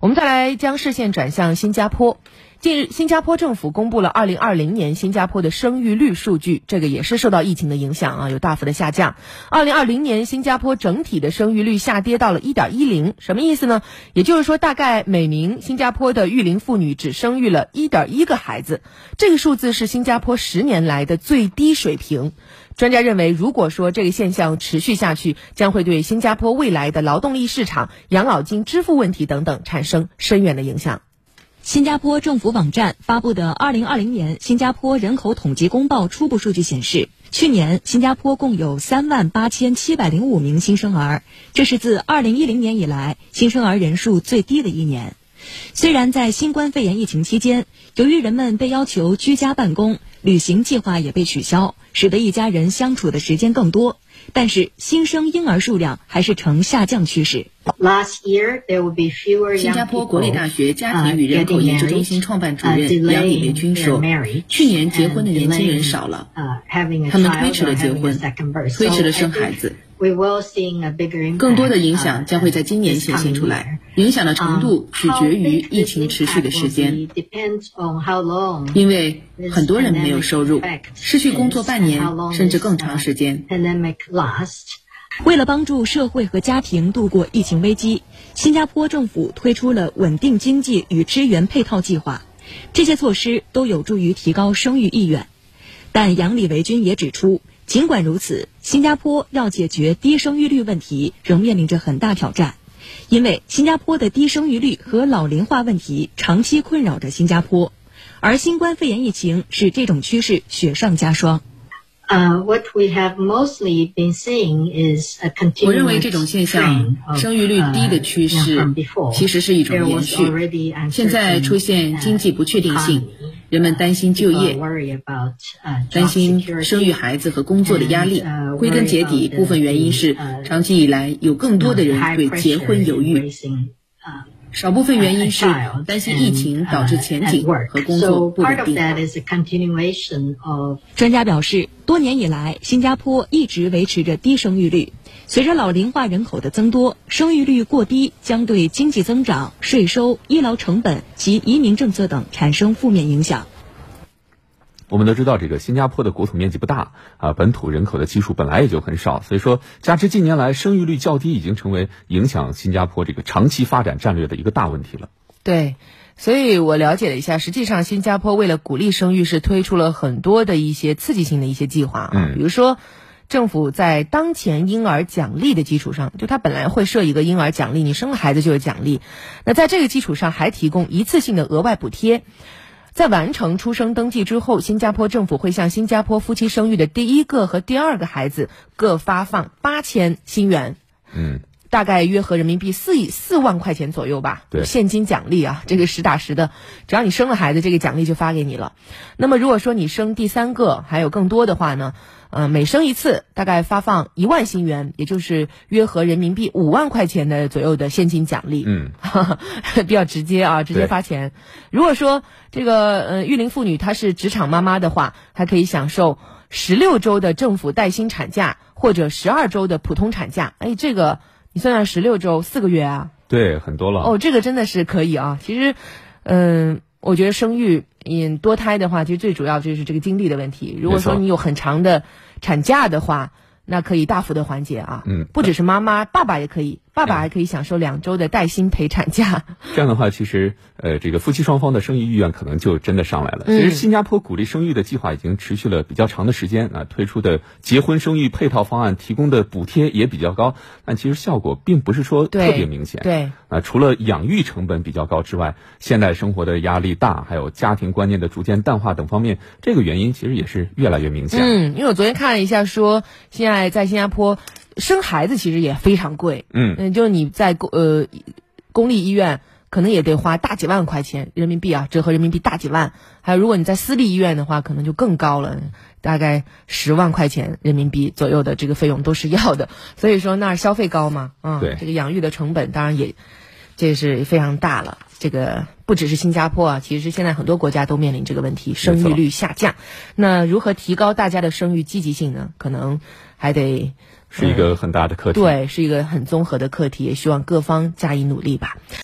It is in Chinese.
我们再来将视线转向新加坡。近日，新加坡政府公布了2020年新加坡的生育率数据，这个也是受到疫情的影响啊，有大幅的下降。2020年新加坡整体的生育率下跌到了 1.10， 什么意思呢？也就是说，大概每名新加坡的育龄妇女只生育了 1.1 个孩子，这个数字是新加坡10年来的最低水平。专家认为，如果说这个现象持续下去，将会对新加坡未来的劳动力市场、养老金支付问题等等产生深远的影响。 新加坡政府网站发布的2020年新加坡人口统计公报初步数据显示，去年新加坡共有38705名新生儿，这是自2010年以来新生儿人数最低的一年。虽然在新冠肺炎疫情期间，由于人们被要求居家办公，旅行计划也被取消，使得一家人相处的时间更多，但是新生婴儿数量还是呈下降趋势。 新加坡国立大学家庭与人口研究中心创办主任杨李维军说，去年结婚的年轻人少了，他们推迟了结婚，推迟了生孩子。更多的影响将会在今年显现出来，影响的程度取决于疫情持续的时间，因为很多人没有收入，失去工作半年甚至更长时间。 为了帮助社会和家庭度过疫情危机，新加坡政府推出了稳定经济与支援配套计划，这些措施都有助于提高生育意愿。但杨李维军也指出，尽管如此，新加坡要解决低生育率问题仍面临着很大挑战，因为新加坡的低生育率和老龄化问题长期困扰着新加坡，而新冠肺炎疫情使这种趋势雪上加霜。 我认为这种现象，生育率低的趋势，其实是一种延续。现在出现经济不确定性，人们担心就业，担心生育孩子和工作的压力。归根结底，部分原因是长期以来有更多的人对结婚犹豫。少部分原因是担心疫情导致前景和工作不稳定。 专家表示，多年以来，新加坡一直维持着低生育率。随着老龄化人口的增多，生育率过低将对经济增长、税收、医疗成本及移民政策等产生负面影响。 我们都知道，这个新加坡的国土面积不大啊，本土人口的基数本来也就很少，所以说加之近年来生育率较低，已经成为影响新加坡这个长期发展战略的一个大问题了。 对，所以我了解了一下，实际上新加坡为了鼓励生育，是推出了很多的一些刺激性的一些计划啊，比如说政府在当前婴儿奖励的基础上，就它本来会设一个婴儿奖励，你生了孩子就有奖励，那在这个基础上还提供一次性的额外补贴。在完成出生登记之后，新加坡政府会向新加坡夫妻生育的第一个和第二个孩子各发放8000新元，大概约合人民币4万块钱左右吧，现金奖励啊，这个实打实的，只要你生了孩子，这个奖励就发给你了。那么如果说你生第三个还有更多的话呢，每生一次大概发放1万新元，也就是约合人民币5万块钱的左右的现金奖励，比较直接啊，直接发钱。如果说这个育龄妇女她是职场妈妈的话，还可以享受16周的政府带薪产假或者12周的普通产假。哎，这个你算算16周4个月啊， 对，很多了。 哦，这个真的是可以啊。其实我觉得生育多胎的话，其实最主要就是这个精力的问题。如果说你有很长的产假的话，那可以大幅的缓解啊。不只是妈妈，爸爸也可以，爸爸还可以享受2周的带薪陪产假。 这样的话，其实这个夫妻双方的生育意愿可能就真的上来了。其实新加坡鼓励生育的计划已经持续了比较长的时间啊，推出的结婚生育配套方案提供的补贴也比较高，但其实效果并不是说特别明显。 对啊，除了养育成本比较高之外，现代生活的压力大，还有家庭观念的逐渐淡化等方面，这个原因其实也是越来越明显。 因为我昨天看了一下说，现在在新加坡生孩子其实也非常贵。就是你在公立医院可能也得花大几万块钱人民币啊，折合人民币大几万。还有如果你在私立医院的话，可能就更高了，大概10万块钱人民币左右的这个费用都是要的。所以说那儿消费高嘛， 对， 这个养育的成本当然也这是非常大了。这个不只是新加坡啊，其实现在很多国家都面临这个问题，生育率下降。那如何提高大家的生育积极性呢？可能还得是一个很大的课题。 对，是一个很综合的课题，也希望各方加以努力吧。